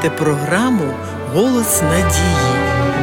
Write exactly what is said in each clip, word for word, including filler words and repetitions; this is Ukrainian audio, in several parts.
слухаєте програму «Голос надії».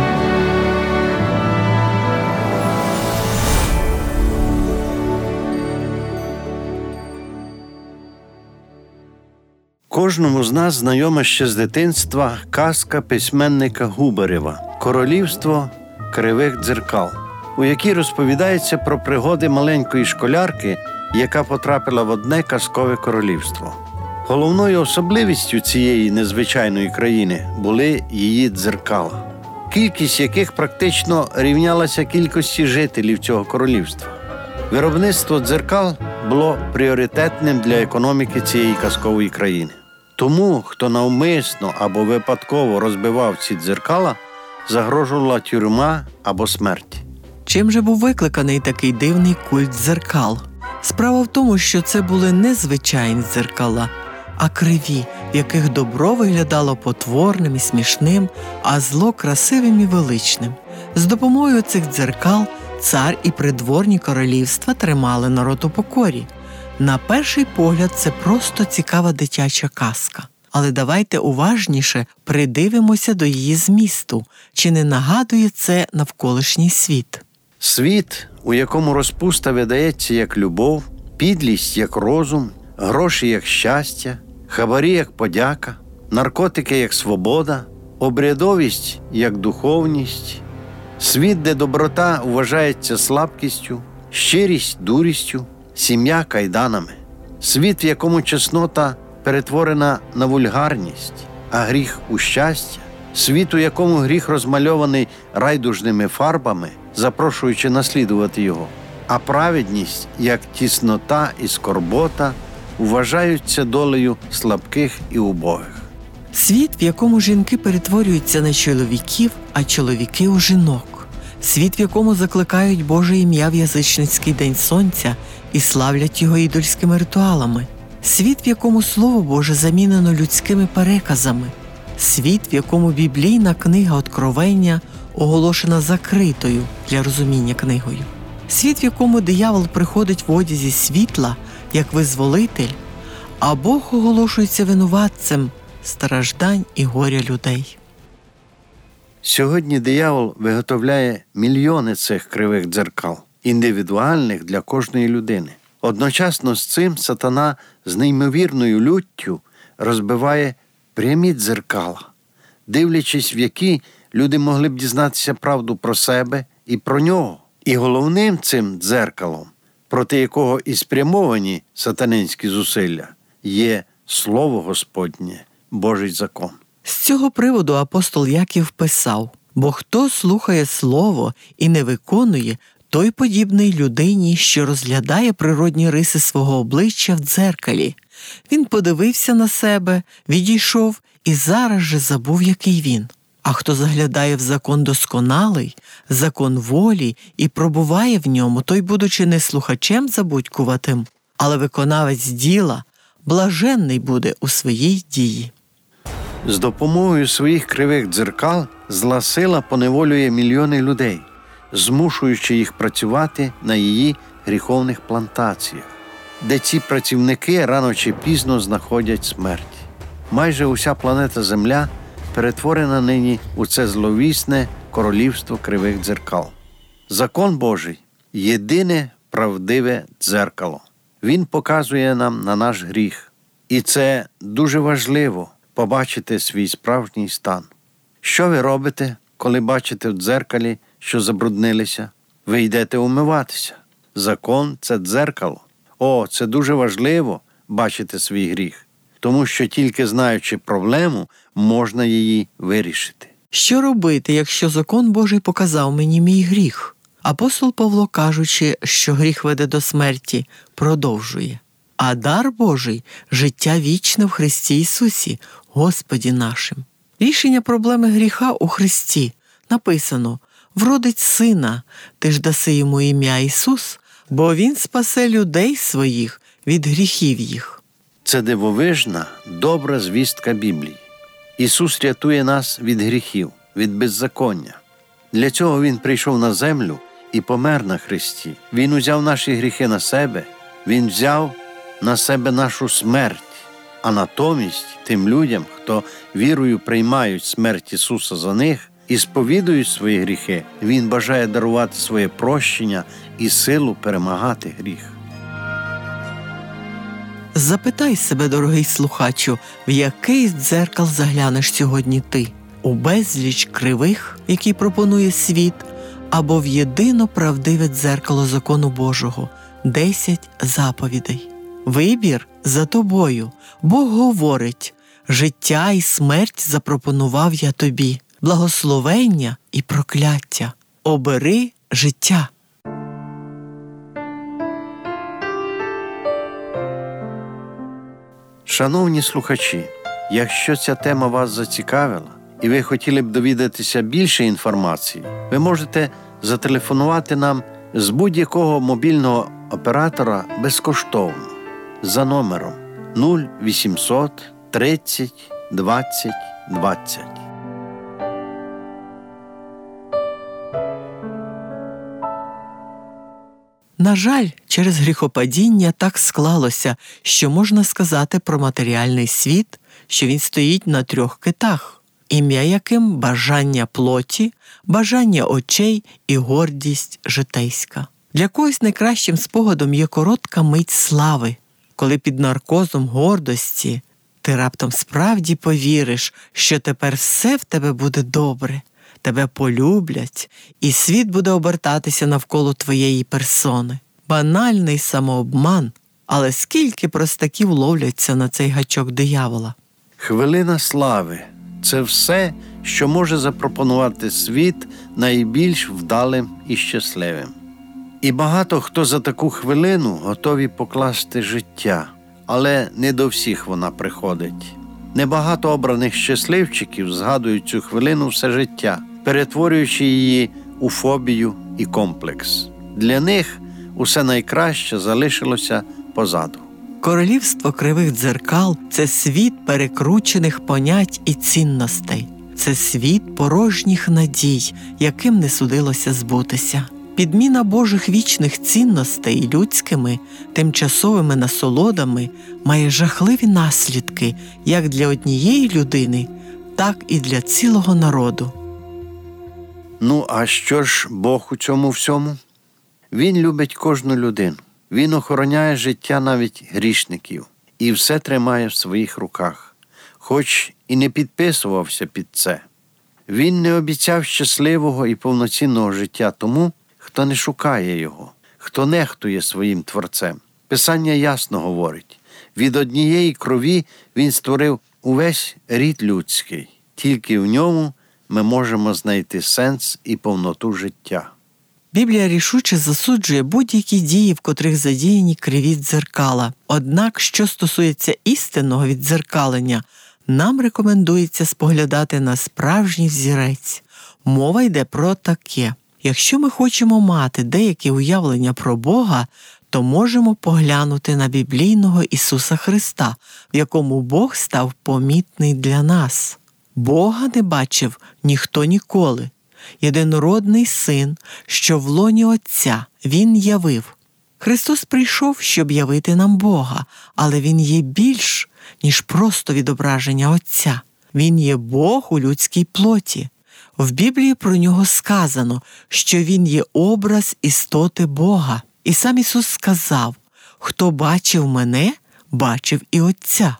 Кожному з нас знайома ще з дитинства казка письменника Губарєва «Королівство кривих дзеркал», у якій розповідається про пригоди маленької школярки, яка потрапила в одне казкове королівство. Головною особливістю цієї незвичайної країни були її дзеркала, кількість яких практично рівнялася кількості жителів цього королівства. Виробництво дзеркал було пріоритетним для економіки цієї казкової країни. Тому, хто навмисно або випадково розбивав ці дзеркала, загрожувала тюрма або смерть. Чим же був викликаний такий дивний культ дзеркал? Справа в тому, що це були не звичайні дзеркала, а криві, в яких добро виглядало потворним і смішним, а зло красивим і величним. З допомогою цих дзеркал цар і придворні королівства тримали народ у покорі. На перший погляд це просто цікава дитяча казка. Але давайте уважніше придивимося до її змісту. Чи не нагадує це навколишній світ? Світ, у якому розпуста видається як любов, підлість як розум, гроші як щастя, хабарі як подяка, наркотики як свобода, обрядовість як духовність. Світ, де доброта вважається слабкістю, щирість – дурістю, сім'я – кайданами. Світ, в якому чеснота перетворена на вульгарність, а гріх – у щастя. Світ, у якому гріх розмальований райдужними фарбами, запрошуючи наслідувати його. А праведність, як тіснота і скорбота, вважаються долею слабких і убогих. Світ, в якому жінки перетворюються на чоловіків, а чоловіки – у жінок. Світ, в якому закликають Боже ім'я в язичницький День Сонця і славлять його ідольськими ритуалами. Світ, в якому Слово Боже замінено людськими переказами. Світ, в якому біблійна книга Откровення оголошена закритою для розуміння книгою. Світ, в якому диявол приходить в одязі світла, як визволитель, а Бог оголошується винуватцем страждань і горя людей. Сьогодні диявол виготовляє мільйони цих кривих дзеркал, індивідуальних для кожної людини. Одночасно з цим сатана з неймовірною люттю розбиває прямі дзеркала, дивлячись в які люди могли б дізнатися правду про себе і про нього. І головним цим дзеркалом, проти якого і спрямовані сатанинські зусилля, є Слово Господнє, Божий закон. З цього приводу апостол Яків писав: «Бо хто слухає Слово і не виконує, той подібний людині, що розглядає природні риси свого обличчя в дзеркалі. Він подивився на себе, відійшов і зараз же забув, який він. А хто заглядає в закон досконалий, закон волі, і пробуває в ньому, той, будучи не слухачем забудькуватим, але виконавець діла, блаженний буде у своїй дії». З допомогою своїх кривих дзеркал зла сила поневолює мільйони людей, змушуючи їх працювати на її гріховних плантаціях, де ці працівники рано чи пізно знаходять смерть. Майже уся планета Земля перетворена нині у це зловісне королівство кривих дзеркал. Закон Божий – єдине правдиве дзеркало. Він показує нам на наш гріх. І це дуже важливо – побачити свій справжній стан. Що ви робите, коли бачите в дзеркалі, що забруднилися? Ви йдете умиватися. Закон – це дзеркало. О, це дуже важливо – бачити свій гріх. Тому що тільки знаючи проблему, можна її вирішити. Що робити, якщо закон Божий показав мені мій гріх? Апостол Павло, кажучи, що гріх веде до смерті, продовжує: «А дар Божий – життя вічне в Христі Ісусі, Господі нашим». Рішення проблеми гріха у Христі. Написано: «Вродить сина, ти ж даси йому ім'я Ісус, бо він спасе людей своїх від гріхів їх». Це дивовижна, добра звістка Біблії. Ісус рятує нас від гріхів, від беззаконня. Для цього Він прийшов на землю і помер на хресті. Він узяв наші гріхи на себе, Він взяв на себе нашу смерть. А натомість тим людям, хто вірою приймають смерть Ісуса за них і сповідують свої гріхи, Він бажає дарувати своє прощення і силу перемагати гріх. Запитай себе, дорогий слухачу, в який з дзеркал заглянеш сьогодні ти? У безліч кривих, які пропонує світ, або в єдино правдиве дзеркало закону Божого – десять заповідей. Вибір за тобою. Бог говорить: життя і смерть запропонував я тобі, благословення і прокляття. Обери життя. Шановні слухачі, якщо ця тема вас зацікавила і ви хотіли б довідатися більше інформації, ви можете зателефонувати нам з будь-якого мобільного оператора безкоштовно за номером нуль вісімсот тридцять двадцять двадцять. На жаль, через гріхопадіння так склалося, що можна сказати про матеріальний світ, що він стоїть на трьох китах, ім'я яким бажання плоті, бажання очей і гордість житейська. Для когось найкращим спогадом є коротка мить слави, коли під наркозом гордості ти раптом справді повіриш, що тепер все в тебе буде добре, тебе полюблять, і світ буде обертатися навколо твоєї персони. Банальний самообман, але скільки простаків ловляться на цей гачок диявола. Хвилина слави – це все, що може запропонувати світ найбільш вдалим і щасливим. І багато хто за таку хвилину готові покласти життя, але не до всіх вона приходить. Небагато обраних щасливчиків згадують цю хвилину все життя, перетворюючи її у фобію і комплекс. Для них усе найкраще залишилося позаду. Королівство кривих дзеркал – це світ перекручених понять і цінностей. Це світ порожніх надій, яким не судилося збутися. Підміна Божих вічних цінностей людськими, тимчасовими насолодами має жахливі наслідки як для однієї людини, так і для цілого народу. Ну, а що ж Бог у цьому всьому? Він любить кожну людину. Він охороняє життя навіть грішників і все тримає в своїх руках, хоч і не підписувався під це. Він не обіцяв щасливого і повноцінного життя тому, хто не шукає його, хто нехтує своїм Творцем. Писання ясно говорить: від однієї крові він створив увесь рід людський. Тільки в ньому ми можемо знайти сенс і повноту життя. Біблія рішуче засуджує будь-які дії, в котрих задіяні криві дзеркала. Однак, що стосується істинного віддзеркалення, нам рекомендується споглядати на справжній взірець. Мова йде про таке. Якщо ми хочемо мати деякі уявлення про Бога, то можемо поглянути на біблійного Ісуса Христа, в якому Бог став помітний для нас. Бога не бачив ніхто ніколи. Єдинородний Син, що в лоні Отця, Він явив. Христос прийшов, щоб явити нам Бога, але Він є більш, ніж просто відображення Отця. Він є Бог у людській плоті. В Біблії про Нього сказано, що Він є образ істоти Бога. І сам Ісус сказав: «Хто бачив мене, бачив і Отця».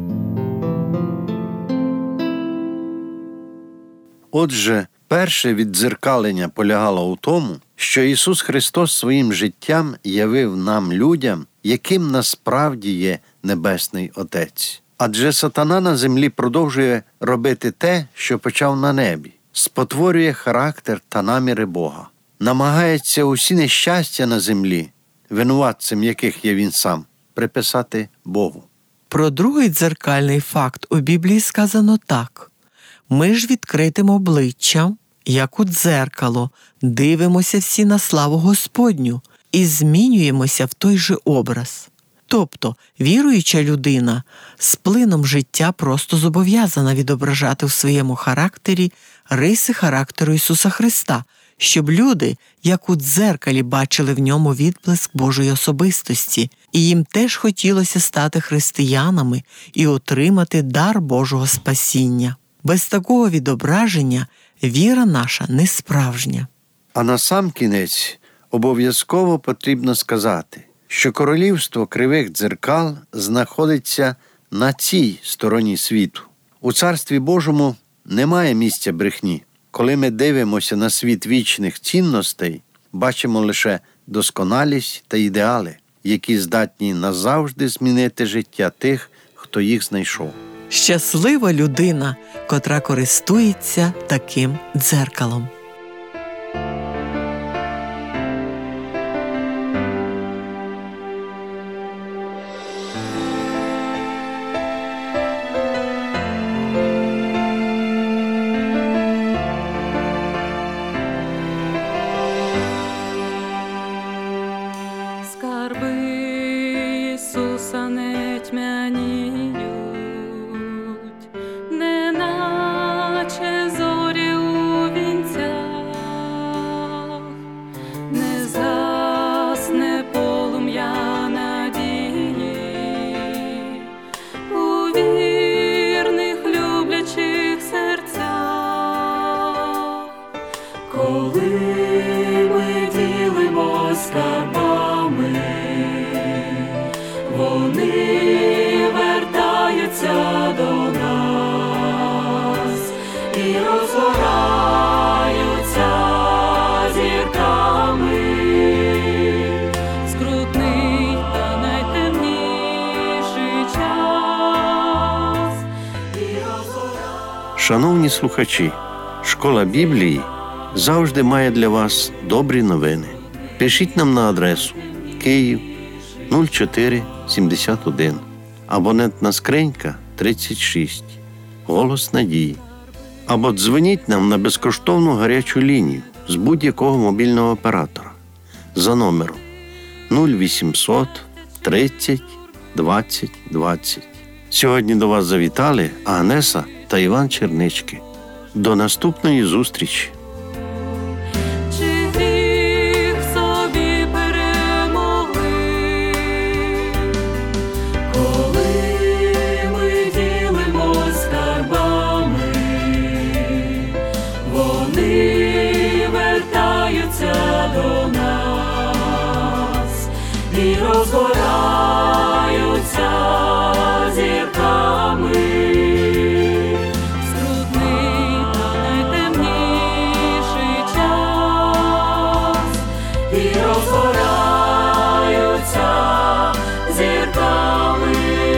Отже, перше віддзеркалення полягало у тому, що Ісус Христос своїм життям явив нам, людям, яким насправді є Небесний Отець. Адже сатана на землі продовжує робити те, що почав на небі. Спотворює характер та наміри Бога. Намагається усі нещастя на землі, винуватцем яких є він сам, приписати Богу. Про другий дзеркальний факт у Біблії сказано так: «Ми ж відкритим обличчям, як у дзеркало, дивимося всі на славу Господню і змінюємося в той же образ». Тобто, віруюча людина з плином життя просто зобов'язана відображати в своєму характері риси характеру Ісуса Христа, щоб люди, як у дзеркалі, бачили в ньому відблиск Божої особистості, і їм теж хотілося стати християнами і отримати дар Божого спасіння. Без такого відображення віра наша не справжня. А на сам кінець обов'язково потрібно сказати, що королівство кривих дзеркал знаходиться на цій стороні світу. У Царстві Божому немає місця брехні. Коли ми дивимося на світ вічних цінностей, бачимо лише досконалість та ідеали, які здатні назавжди змінити життя тих, хто їх знайшов. Щаслива людина, котра користується таким дзеркалом. Ісуса не тьмяніють, неначе зорі у вінцях, не згасне полум'я надії у вірних люблячих серцях. Коли ми ділимось скарбами, вони вертаються до нас і розгораються зірками. Скрутний та найтемніший час і розгораються. Шановні слухачі, Школа Біблії завжди має для вас добрі новини. Пишіть нам на адресу Київ нуль чотири сімдесят один, абонентна скринька тридцять шість, Голос Надії. Або дзвоніть нам на безкоштовну гарячу лінію з будь-якого мобільного оператора за номером нуль вісімсот тридцять двадцять двадцять. Сьогодні до вас завітали Агнеса та Іван Чернички. До наступної зустрічі! До нас і розгораються зірками. Скрутний та найтемніший час і розгораються зірками.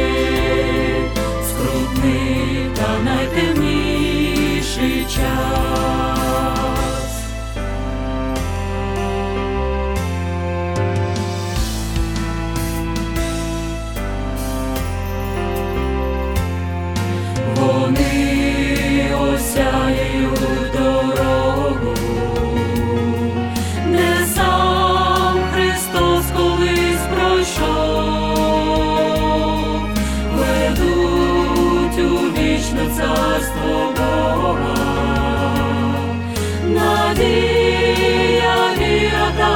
Скрутний та найтемніший час. Вони осяють дорогу, не сам Христос колись пройшов, ведуть у вічне царство Бога, надія, віра та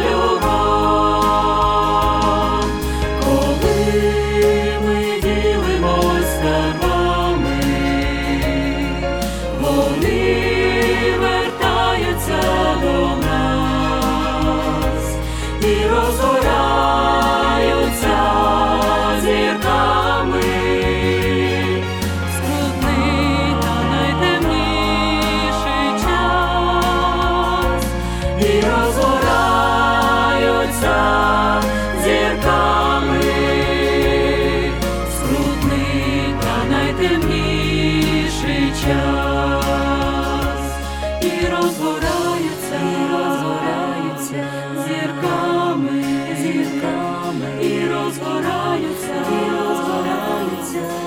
любов. Коли ми ділимось скарбами, вони вертаються до нас і розгораються зірками. Скрутний та найтемніший час і розгораються зірками. Скрутний та найтемніший час і розгораються, і розгораються зірками, зірками, і розгораються, і розгораються.